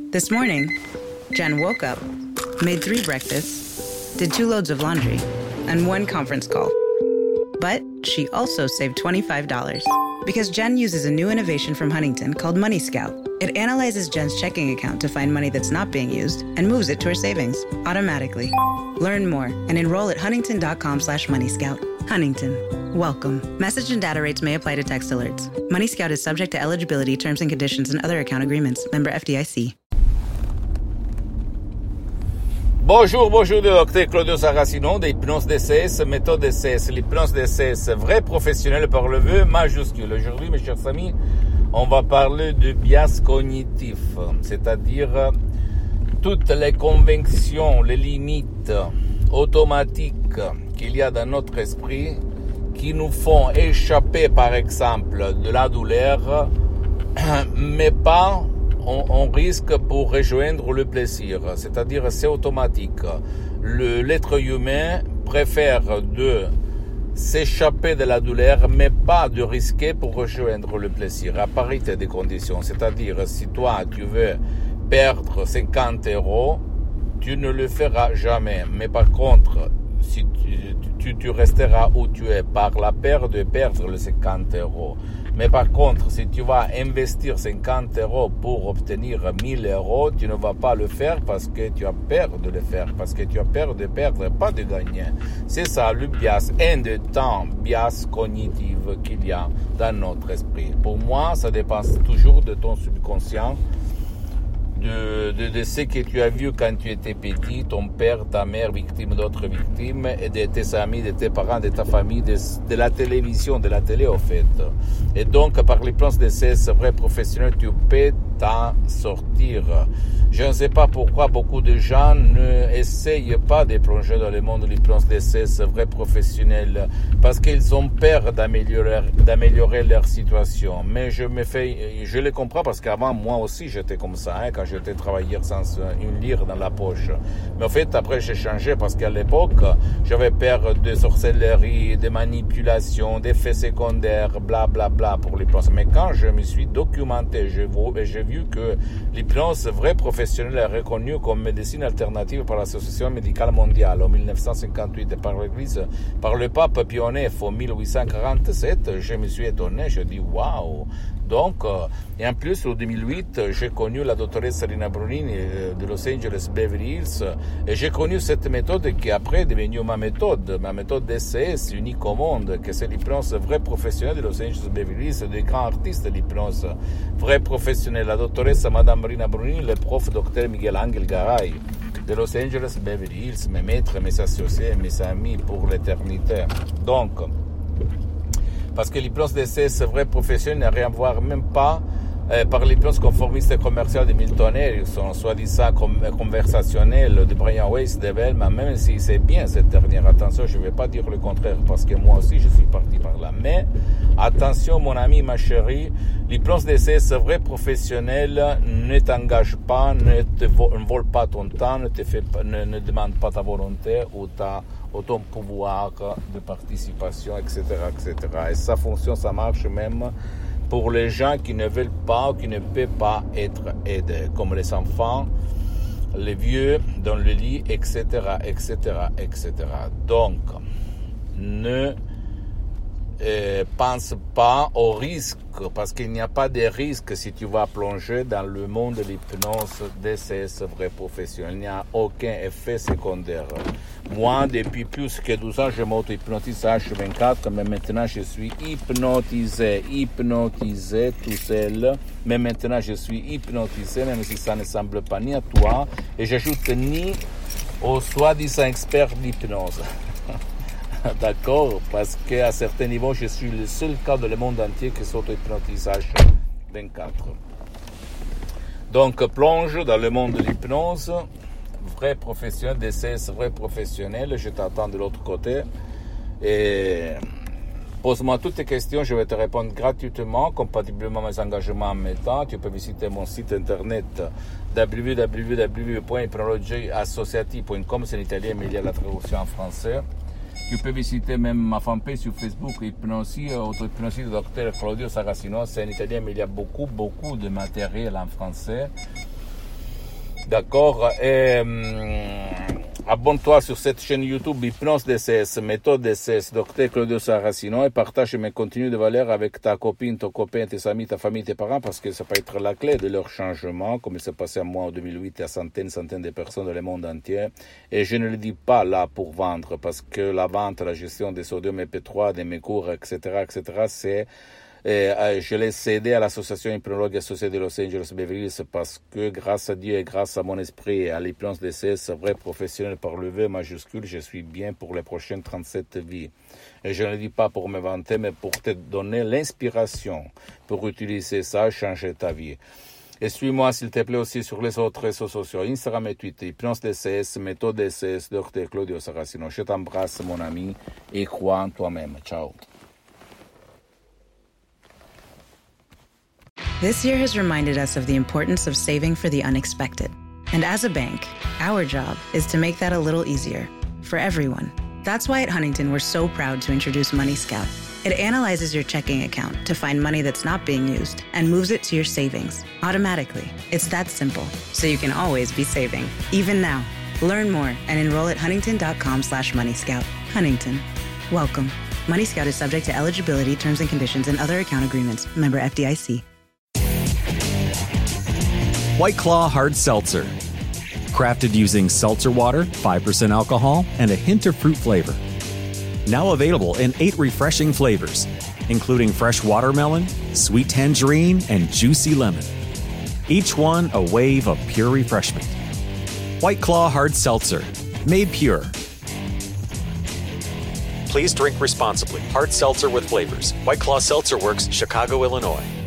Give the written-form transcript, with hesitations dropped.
This morning, Jen woke up, made 3 breakfasts, did 2 loads of laundry, and 1 conference call. But she also saved $25 because Jen uses a new innovation from Huntington called Money Scout. It analyzes Jen's checking account to find money that's not being used and moves it to her savings automatically. Learn more and enroll at huntington.com/moneyscout. Huntington. Welcome. Message and data rates may apply to text alerts. Money Scout is subject to eligibility, terms and conditions, and other account agreements. Member FDIC. Bonjour, le docteur Claudio Saracino d'Hypnose DCS, méthode DCS, l'hypnose DCS, vrai professionnel par le vœu majuscule. Aujourd'hui, mes chers amis, on va parler de bias cognitif, c'est-à-dire toutes les conventions, les limites automatiques qu'il y a dans notre esprit qui nous font échapper, par exemple, de la douleur, mais pas on risque pour rejoindre le plaisir, c'est-à-dire c'est automatique. L'être humain préfère de s'échapper de la douleur, mais pas de risquer pour rejoindre le plaisir, à parité des conditions. C'est-à-dire, si toi, tu veux perdre 50 €, tu ne le feras jamais. Mais par contre, si tu resteras où tu es par la peur de perdre les 50 €. Mais par contre, si tu vas investir 50 € pour obtenir 1000 €, tu ne vas pas le faire parce que tu as peur de le faire, parce que tu as peur de perdre, pas de gagner. C'est ça le bias, un des temps bias cognitif qu'il y a dans notre esprit. Pour moi, ça dépend toujours de ton subconscient, de ce que tu as vu quand tu étais petit, ton père, ta mère, victime d'autres victimes, et de tes amis, de tes parents, de ta famille, de la télévision, de la télé, au fait. Et donc, par l'hypnose DCS vrai professionnel, tu peux t'en sortir. Je ne sais pas pourquoi beaucoup de gens ne essayent pas de plonger dans le monde de l'hypnose DCS vrai professionnel, parce qu'ils ont peur d'améliorer leur situation. Mais je le comprends parce qu'avant, moi aussi, j'étais comme ça, quand j'étais travailleur sans une lire dans la poche. Mais en fait, après, j'ai changé parce qu'à l'époque, j'avais peur de sorcellerie, de manipulation, d'effets secondaires, bla bla bla pour l'hypnose. Mais quand je me suis documenté, j'ai vu que l'hypnose vrai professionnel est reconnue comme médecine alternative par l'Association médicale mondiale en 1958 et par l'Église, par le pape Pie IX en 1847, je me suis étonné, je dis waouh. Donc, et en plus, en 2008, j'ai connu la doctoresse Rina Brunini de Los Angeles Beverly Hills, et j'ai connu cette méthode qui après est devenue ma méthode DCS unique au monde, que c'est l'hypnose vrai professionnel de Los Angeles Beverly Hills, des grands artistes de l'hypnose vrai professionnel. La doctoresse Madame Rina Brunini, le prof Dr Miguel Angel Garay de Los Angeles Beverly Hills, mes maîtres, mes associés, mes amis pour l'éternité. Donc, parce que l'hypnose DCS vrai professionnel n'a rien à voir même pas par l'hypnose conformiste et commerciale de Milton Erickson, soi-disant conversationnelle de Brian Weiss de Bellman, même si c'est bien cette dernière. Attention, je ne vais pas dire le contraire, parce que moi aussi je suis parti par là. Mais attention, mon ami, ma chérie, l'hypnose DCS vrai professionnel ne t'engage pas, ne vole pas ton temps, ne demande pas ta volonté ou ton pouvoir de participation, etc., etc. Et ça fonctionne, ça marche même pour les gens qui ne veulent pas ou qui ne peuvent pas être aidés, comme les enfants, les vieux dans le lit, etc., etc., etc. Donc, ne pense pas au risque, parce qu'il n'y a pas de risque si tu vas plonger dans le monde de l'hypnose DCS vrai professionnel. Il n'y a aucun effet secondaire. Moi, depuis plus que 12 ans, je m'auto-hypnotise H24, mais maintenant je suis hypnotisé tout seul. Mais maintenant je suis hypnotisé, même si ça ne semble pas ni à toi, et j'ajoute ni aux soi-disant experts d'hypnose. D'accord, parce qu'à certains niveaux, je suis le seul cas dans le monde entier qui s'auto-hypnotise H24. Donc, plonge dans le monde de l'hypnose, vrai professionnel, DCS vrai professionnel, je t'attends de l'autre côté. Et pose-moi toutes tes questions, je vais te répondre gratuitement, compatiblement à mes engagements en même temps. Tu peux visiter mon site internet www.hypnologieassociative.com, c'est en italien, mais il y a la traduction en français. Tu peux visiter même ma fanpage sur Facebook, Hypnosie, auto-hypnosie de Dr Claudio Saracino, c'est en italien, mais il y a beaucoup de matériel en français. D'accord. Et abonne-toi sur cette chaîne YouTube Hypnose DCS, méthode DCS, Dr Claudio Saracino, et partage mes contenus de valeur avec ta copine, ton copain, tes amis, ta famille, tes parents, parce que ça peut être la clé de leur changement, comme il s'est passé à moi en 2008 et à centaines de personnes dans le monde entier. Et je ne le dis pas là pour vendre, parce que la vente, la gestion des sodium MP3, des mes cours, etc., c'est... je l'ai cédé à l'association hypnologue associée de Los Angeles Beverly Hills parce que grâce à Dieu et grâce à mon esprit et à l'hypnose DCS, vrai professionnel par le V majuscule, je suis bien pour les prochaines 37 vies. Et je ne le dis pas pour me vanter, mais pour te donner l'inspiration pour utiliser ça, changer ta vie. Et suis-moi, s'il te plaît, aussi sur les autres réseaux sociaux, Instagram et Twitter, Hypnose DCS, méthode DCS, Dr Claudio Saracino. Je t'embrasse, mon ami, et crois en toi-même. Ciao. This year has reminded us of the importance of saving for the unexpected. And as a bank, our job is to make that a little easier for everyone. That's why at Huntington, we're so proud to introduce Money Scout. It analyzes your checking account to find money that's not being used and moves it to your savings automatically. It's that simple, so you can always be saving, even now. Learn more and enroll at huntington.com/moneyscout. Huntington. Welcome. Money Scout is subject to eligibility, terms and conditions, and other account agreements. Member FDIC. White Claw Hard Seltzer. Crafted using seltzer water, 5% alcohol, and a hint of fruit flavor. Now available in 8 refreshing flavors, including fresh watermelon, sweet tangerine, and juicy lemon. Each one a wave of pure refreshment. White Claw Hard Seltzer. Made pure. Please drink responsibly. Hard seltzer with flavors. White Claw Seltzer Works, Chicago, Illinois.